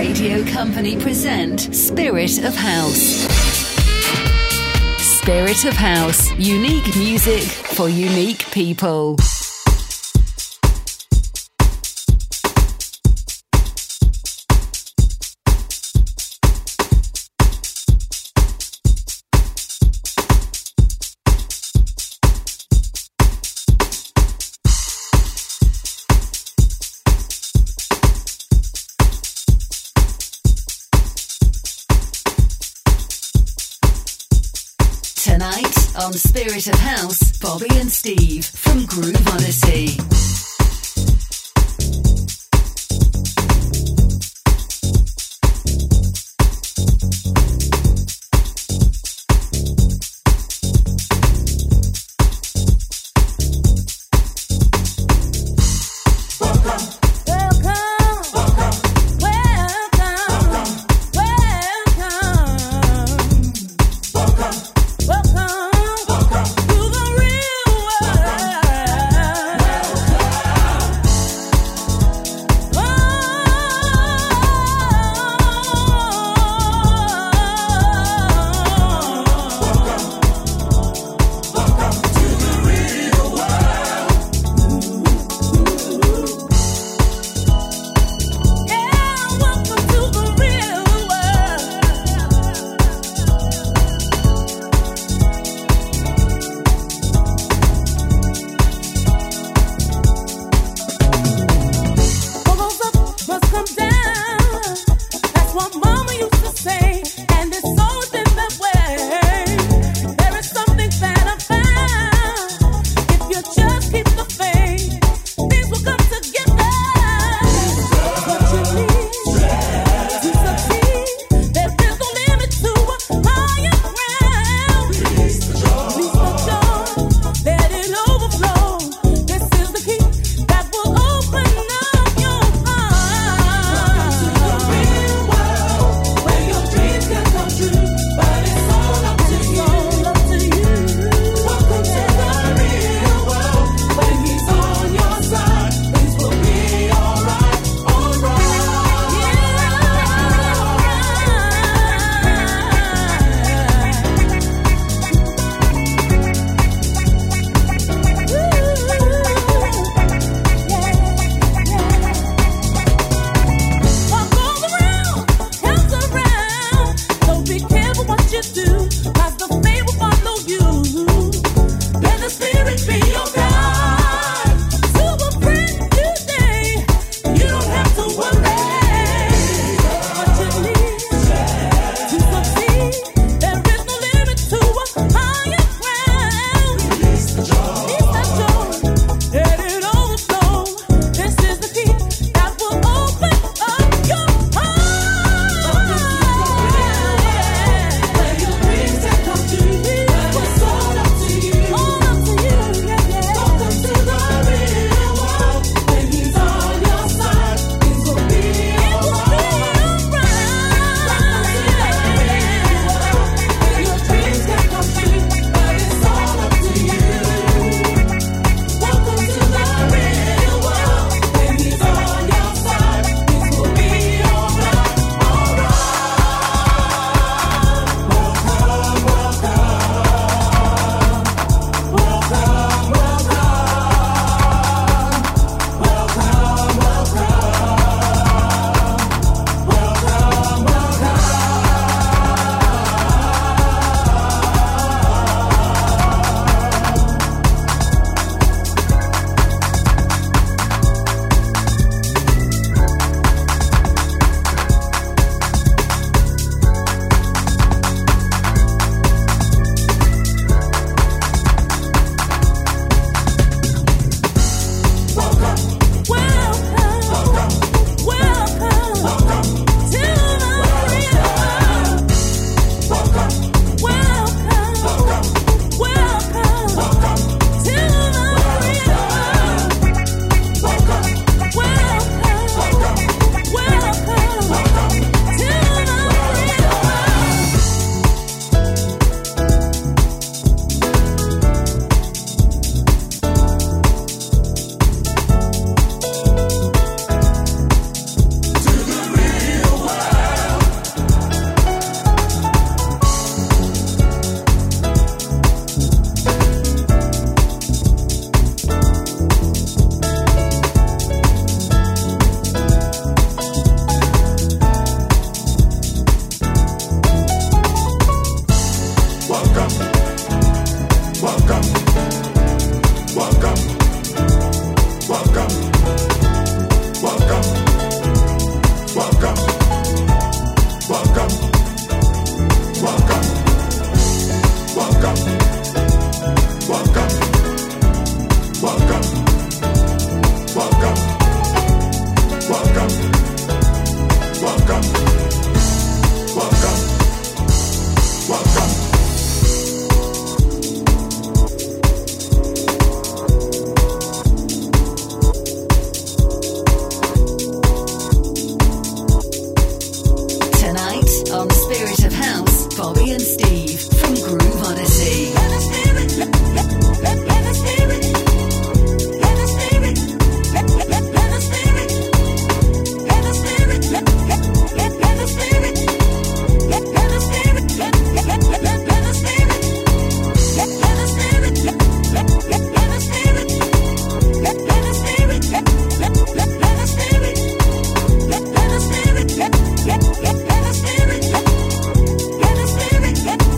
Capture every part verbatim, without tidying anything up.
Radio Company present Spirit of House. Spirit of House. Unique music for unique people. Tonight on Spirit of House, Bobby and Steve from Groove Odyssey. Welcome to the real world. Let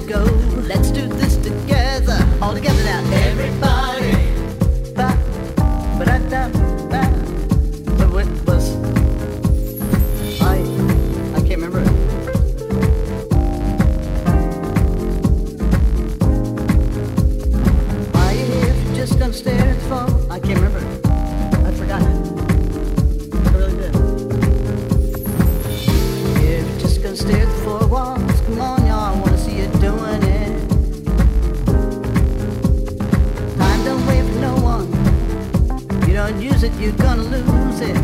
go. Let's do this together. All together now. Everybody. Ba, ba da da ba. But what was I? I can't remember it. Are you here if you're just gonna stare at the phone? I can't remember it. I forgot it. I really did. If you're just gonna stare at the four walls, come on, y'all. I wanna see you doing it. Time don't wait for no one. You don't use it, you're gonna lose it.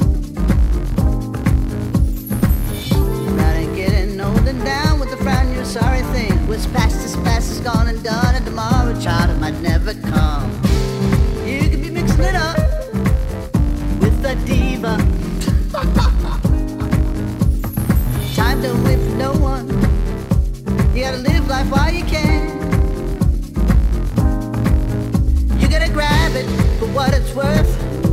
Not ain't getting old and down with the frown, you're a sorry thing. What's past is past is gone and done, and tomorrow, child, it might never come. You could be mixing it up with the diva. Time don't wait for no one. You gotta live life while you can. You gotta grab it for what it's worth.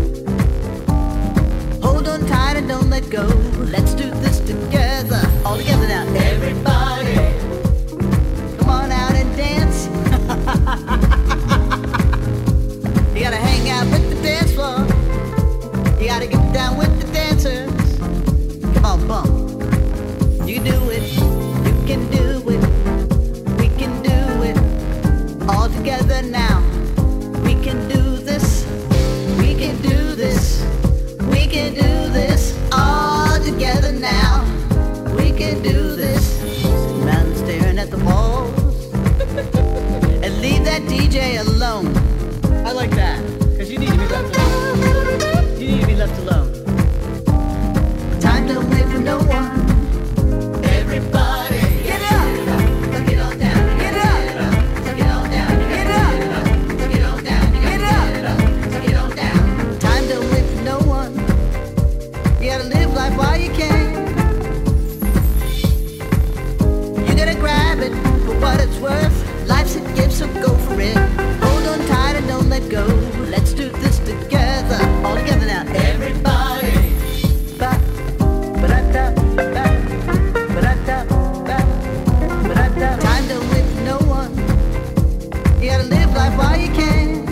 Hold on tight and don't let go. Let's do this together. All together now. Everybody. Come on out and dance. You gotta hang out with the dance floor. You gotta get down with the dancers. Come on, bump. You can do it. You can do it. We can do it. All together now. We can do this. We can do this. We can do this. All together now. We can do this. Sitting around staring at the walls. And leave that D J alone. I like that. Cause you need to be left alone. You need to be left alone. Time don't wait for no one. Everybody, get up, get on down, get up, get on down, get up, get on down, get up, get on down. Time don't wait for no one. You gotta live life while you can. You gotta grab it for what it's worth. Life's a gift, so go for it. Hold on tight and don't let go. Let's do this together, all together now. Everybody, ba, ba da da ba. Time don't wait for no one. You gotta live life while you can.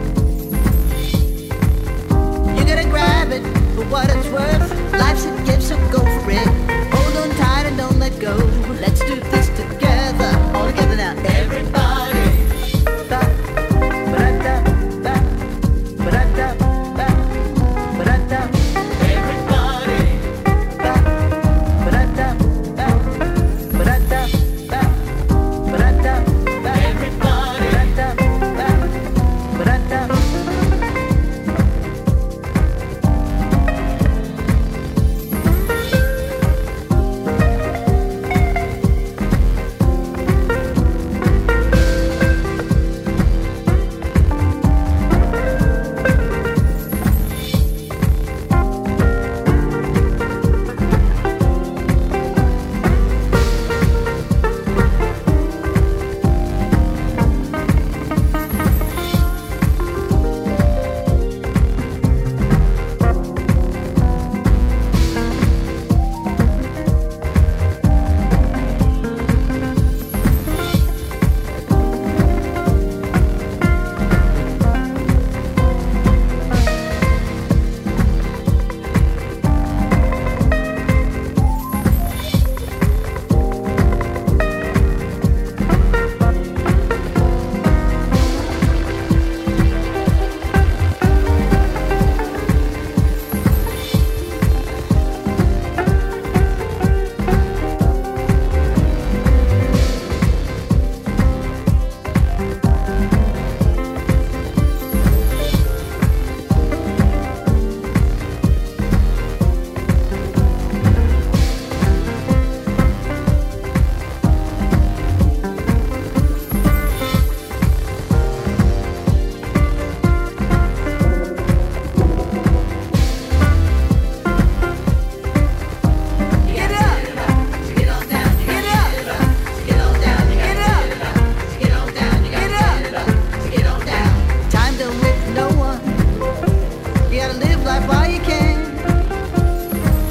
You gotta grab it for what it's worth. Life's a gift, so go for it. Hold on tight and don't let go. Let's do this together. All together now. Everybody. Ba, ba da da ba, ba da da ba, ba da da. Everybody. Ba, ba da da ba, ba da da.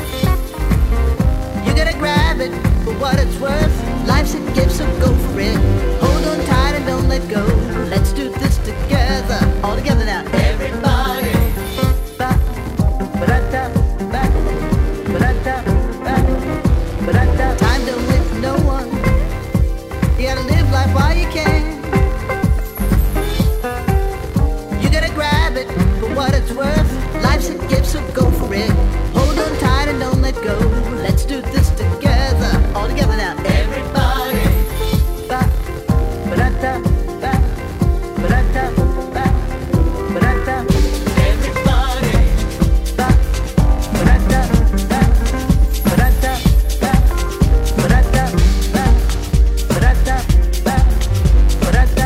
what it's worth. Life's a gift, so go for it. no one. You gotta live life while you can. You gotta grab it for what it's worth. Life's a gift, so go for it. Hold on tight and don't let go. Let's do this together. All together now. Everybody. Ba, ba-da-da, ba, ba-da-da, ba, ba-da-da. Everybody. Ba, ba-da-da, ba, ba-da-da, ba, ba-da-da, ba, ba-da-da, ba, ba-da-da.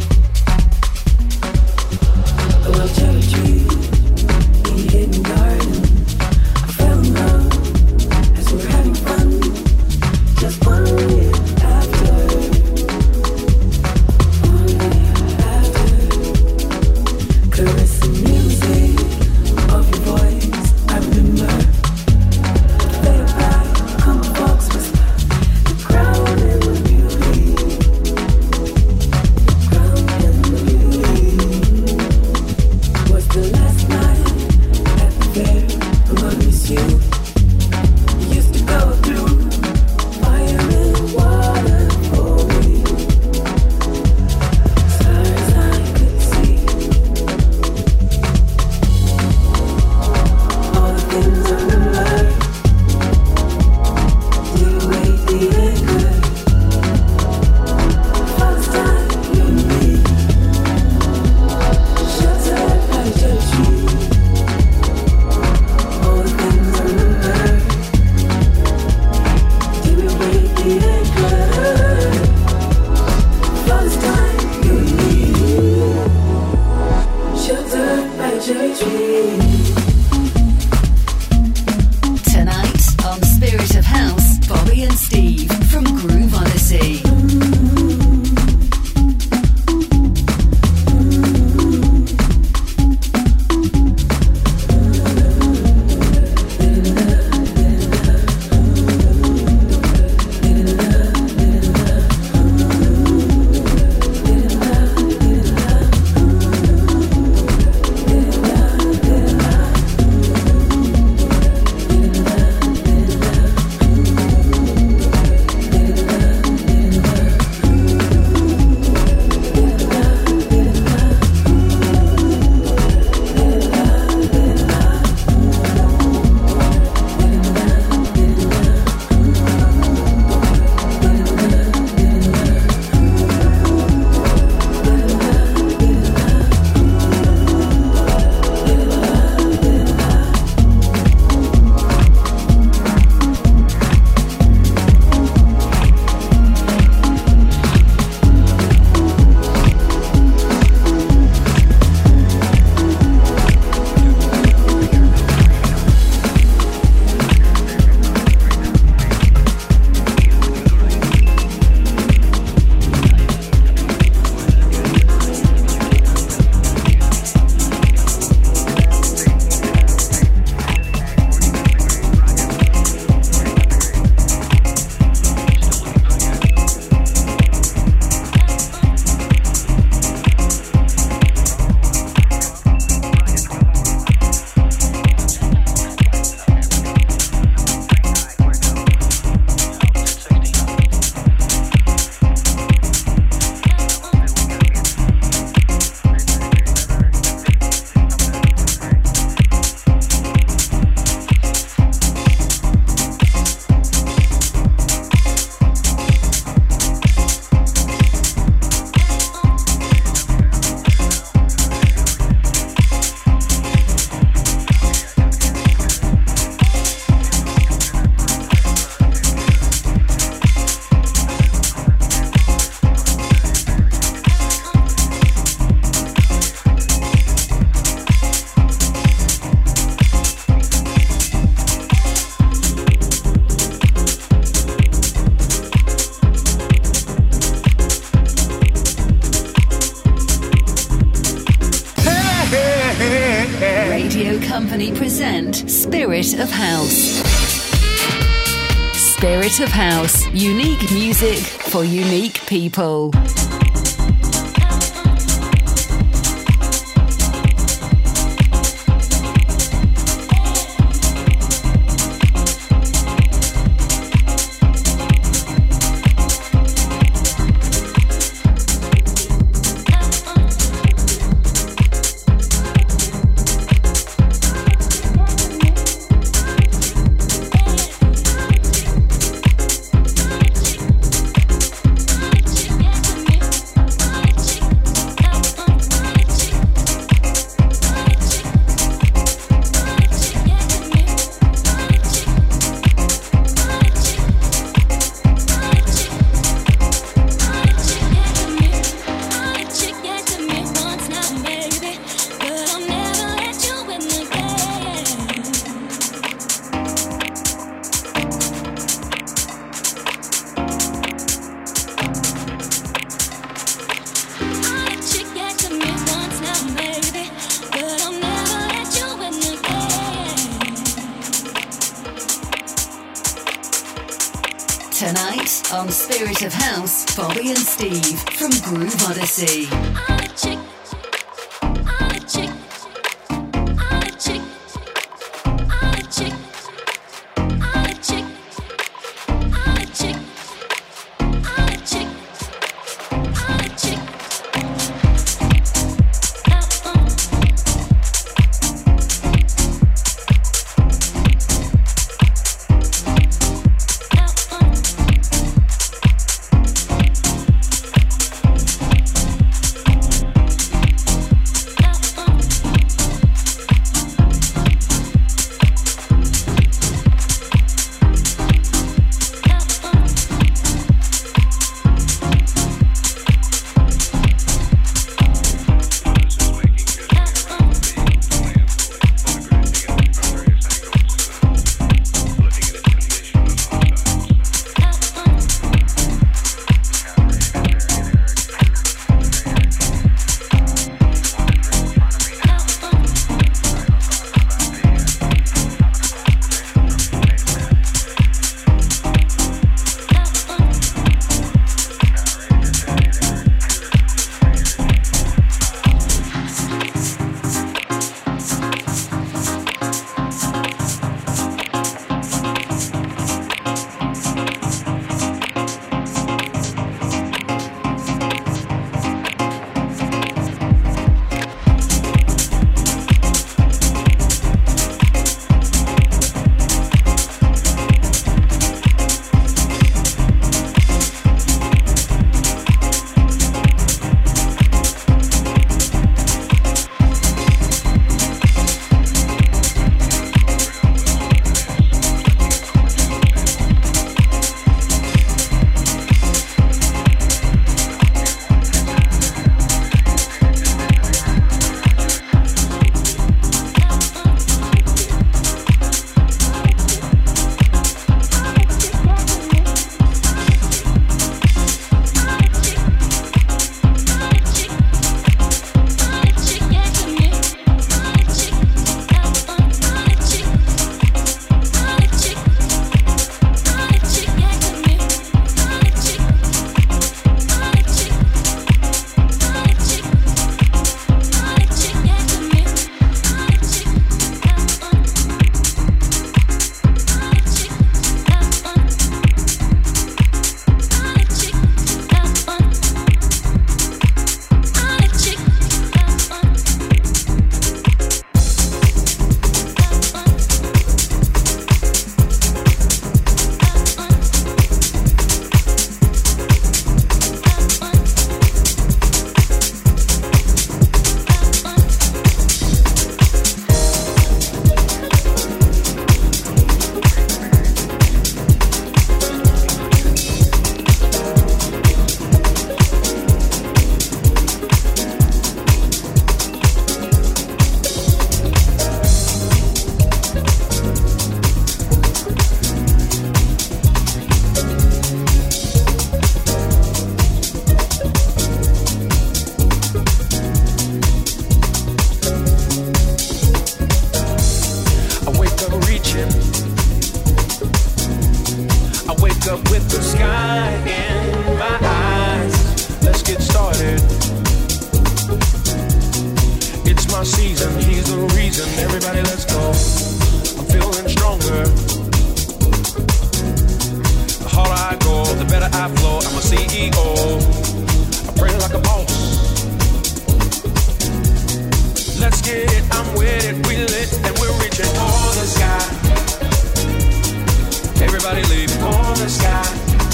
Hidden garden. Company present Spirit of House. Spirit of House. Unique music for unique people. Tonight on Spirit of House, Bobby and Steve from Groove Odyssey. I'm a chick. I'm a chick. I'm a chick. I'm a chick. reaching. I wake up with the sky in my eyes. Let's get started. It's my season, he's the reason. Everybody, let's go. I'm feeling stronger. The harder I go, the better I flow. I'm a C E O. I pray like a boss. Let's get it, I'm with it, we lit, and we're reaching for the sky. Everybody leave for the sky.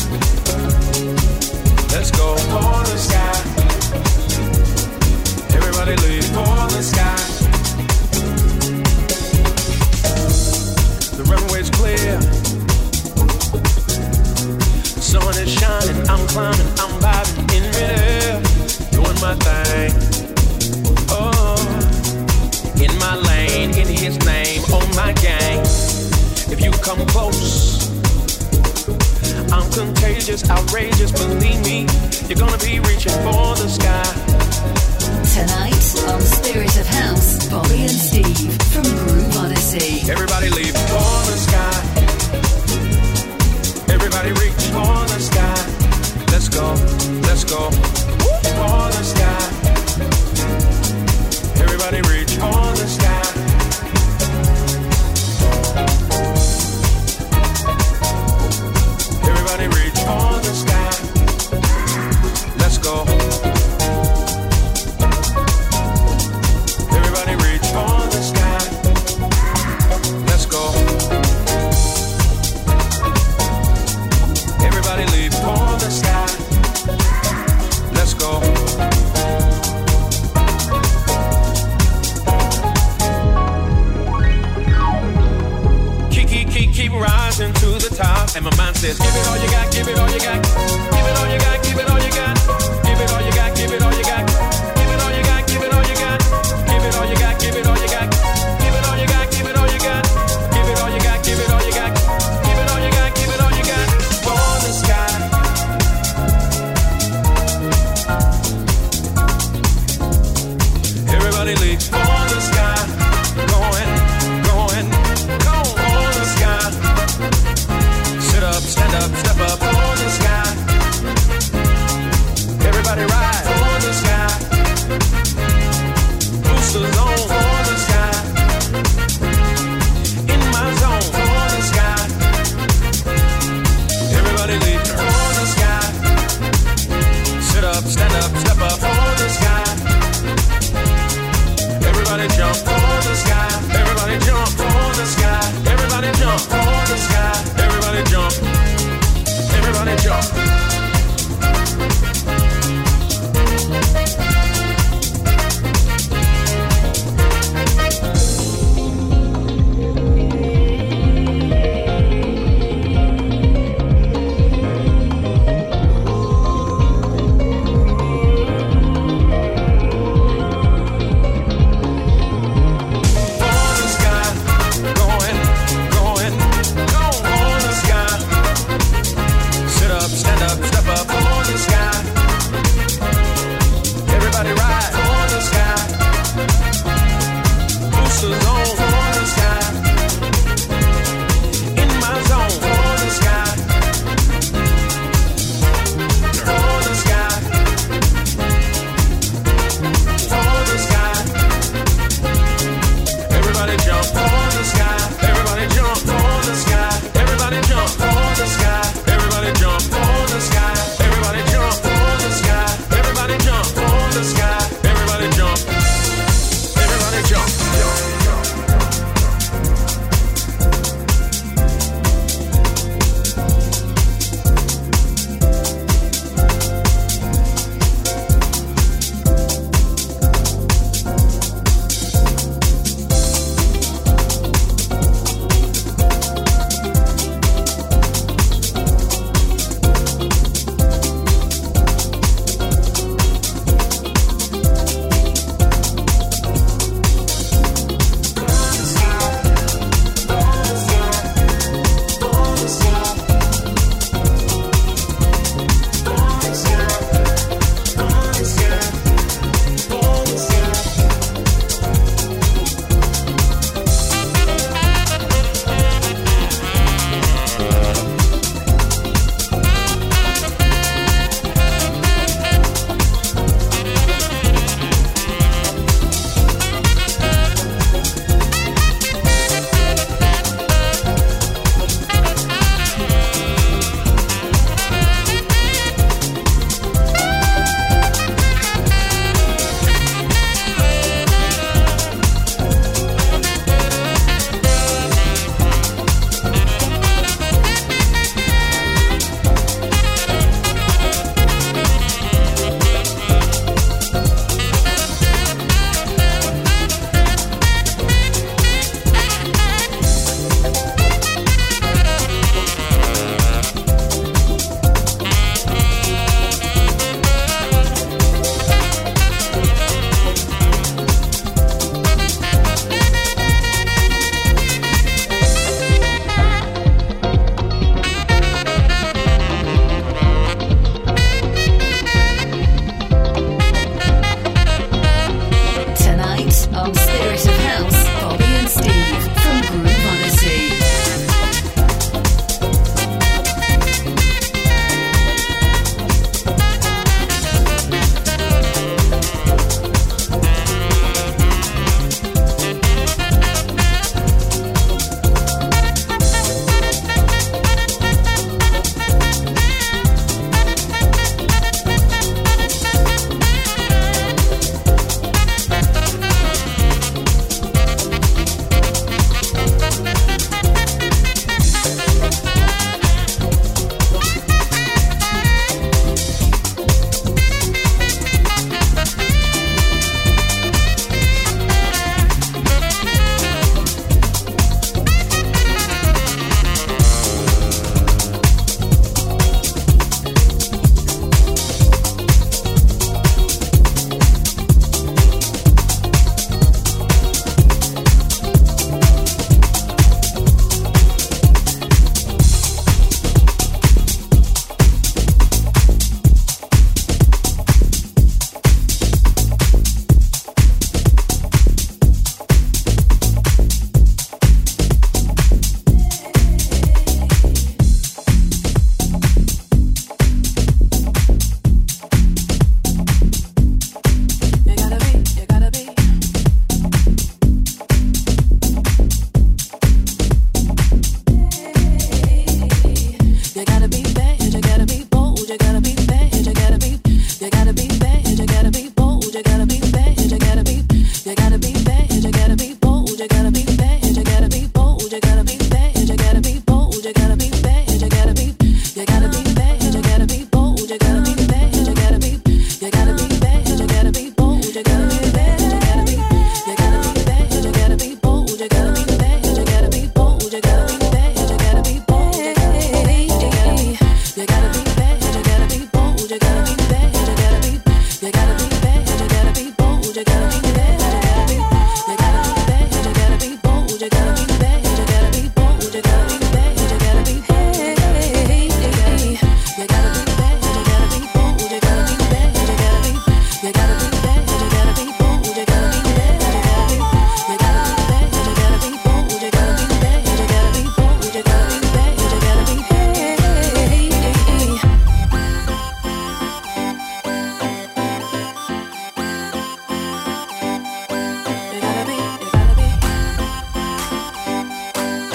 Let's go for the sky. Everybody leave for the sky. The runway's clear. The sun is shining, I'm climbing, I'm vibing in midair, doing my thing. Oh, in my lane, in his name, on my gang. If you come close, I'm contagious, outrageous, believe me, you're gonna be reaching for the sky. Tonight on Spirit of House, Bobby and Steve from Groove Odyssey. Everybody leave for the sky. Everybody reach for the sky. Let's go, let's go for the sky. Everybody reach for the sky. Everybody reach for the sky. Let's go. Everybody reach for the sky. Let's go. Everybody leave for the sky. Let's go. Keep rising to the top, and my mind says, give it all you got, give it all you got, give it all you got, give it all you got, give it all you got, give it all you got, give it all you got, give it all you got, give it all you got, give it all you got, give it all you got, give it all you got, give it all you got, give it all you got, give it all you got, give it all you got, for the sky. Everybody leaves for the sky, going, going, going for the sky. Sit up, stand up, step up for the sky.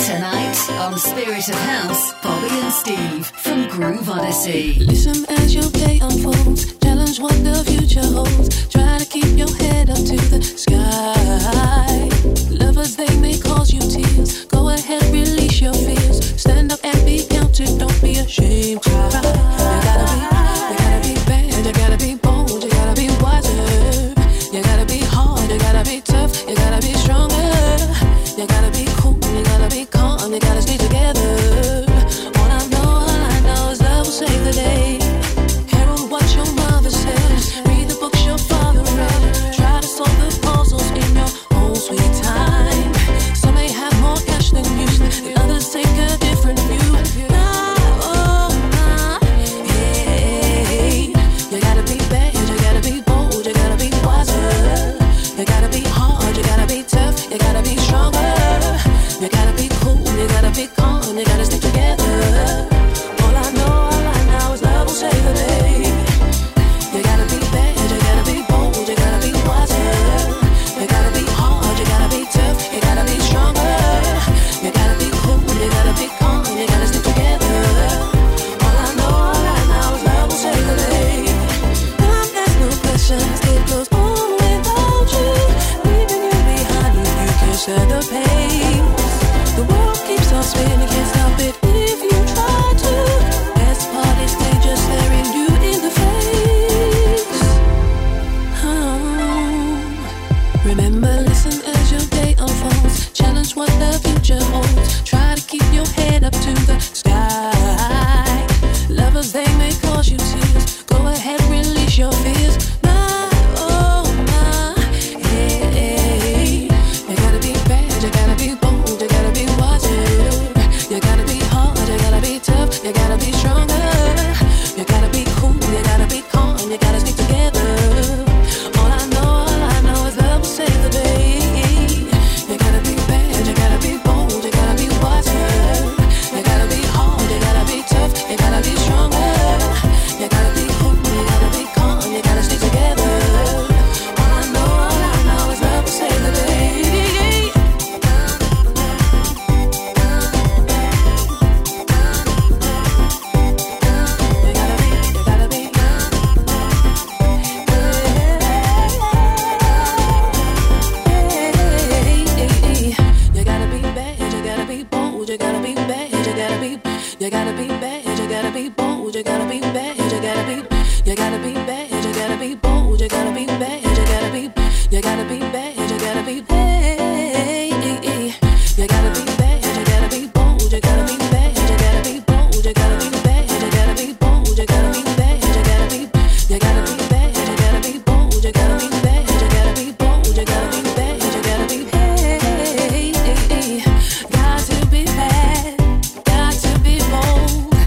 Tonight on Spirit of House, Bobby and Steve from Groove Odyssey. Listen as your day unfolds, challenge what the future holds. Try to keep your head up to the sky. Lovers, they may cause you tears. Go ahead, release your fears. Stand up and be counted, don't be ashamed. Try. You gotta be, you gotta be bad, you gotta be bold, you gotta be wiser. You gotta be hard, you gotta be tough, you gotta be stronger. You gotta be cool, you gotta be calm, you gotta stay together. All I know, all I know is love will save the day. Hear what your mother says, read the books your father read. Try to solve the puzzles in your own sweet time. Some may have more cash than you, the others take a different view. Nah, oh, nah, hey. You gotta be bad, you gotta be bold, you gotta be wiser. You gotta be hard, you gotta be tough, you gotta be stronger. You gotta be cool, you gotta be calm, you gotta stick together. All I know, all I know is love will save the day. You gotta be bad, you gotta be bold, you gotta be wiser. You gotta be hard, you gotta be tough, you gotta be stronger. You gotta be cool, you gotta be calm, you gotta stick together. All I know, all I know is love will save the day. Love has no questions, it goes on without you, leaving you behind if you can't share the pain. The world keeps on spinning, can't stop it if you try to. Best part is they just staring you in the face. Oh. Remember, listen as your day unfolds. Challenge what the future holds. Try to keep your head up to the sky. Lovers, they may cause you tears. Go ahead, release your fears. Nah, oh, nah, hey, hey. You gotta be bad, you gotta be bold, you gotta be wiser. You gotta be hard, you gotta be tough, you gotta be stronger. You gotta be cool, you gotta be calm, you gotta stick together. All I know, all I know is love will save the day. You gotta be bad, you gotta be bold, you gotta be wiser. You gotta be hard, you gotta be tough, you gotta be stronger. You gotta be cool, you gotta be calm, you gotta stick together. All I know, all I know is love will save the day. You gotta be bad, you gotta be, you gotta be bad, you gotta be bold, you gotta be bad, you gotta be, you gotta be bad, you gotta be bold, you gotta be bad, you gotta be, you gotta be bad, you gotta be, hey, you gotta be bad, you gotta be bold, you gotta be bad, you gotta be bold, you gotta be bad, you gotta be bold, you gotta be bad, you gotta be, you gotta be bad, you gotta be bold, you gotta be bad, you gotta be bold, you gotta be bad, you gotta be, hey, got to be bad, got to be bold.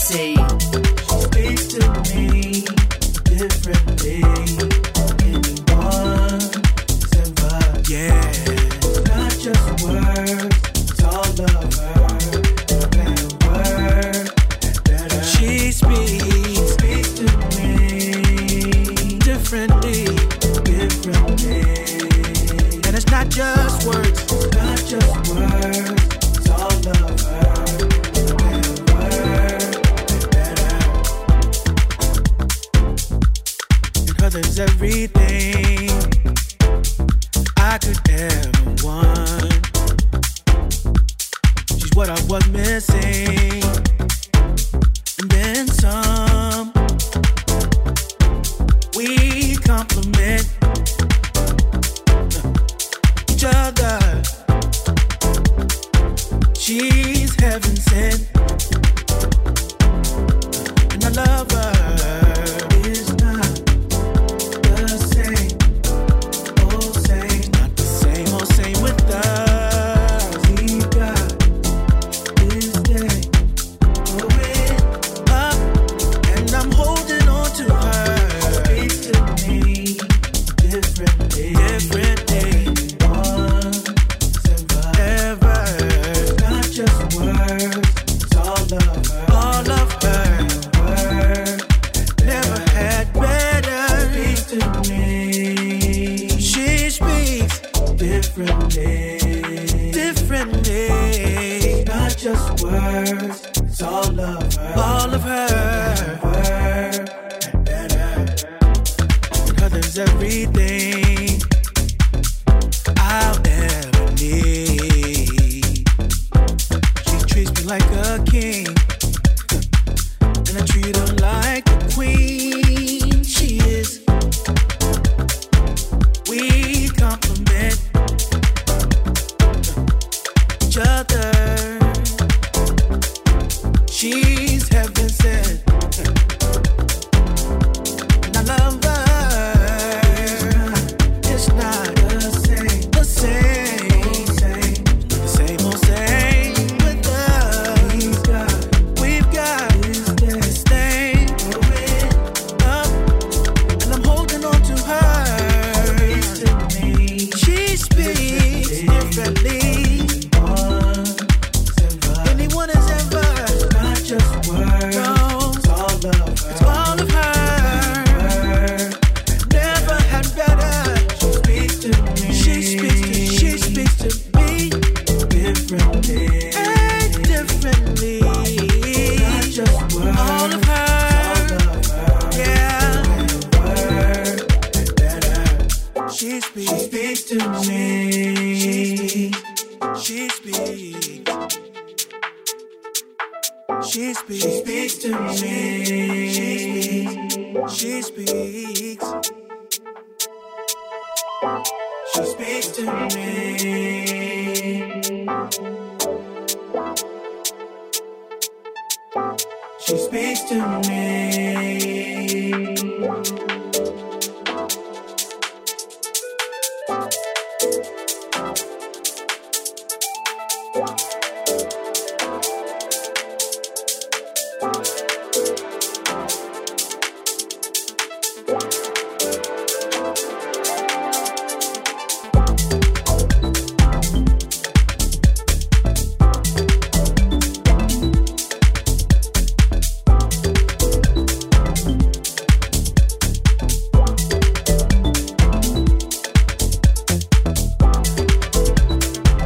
Odyssey. She speaks to me differently. Anyone send vibes. Yeah. It's not just words, it's all of her. Better word, better. She speaks, speaks to me differently, differently. And it's not just words, it's not just words, it's all of her. There's everything I could ever want. She's what I was missing, and then some. We complement each other. She's heaven sent, and I love her. It's not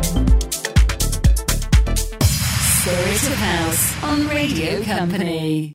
Spirit of House on Radio Company.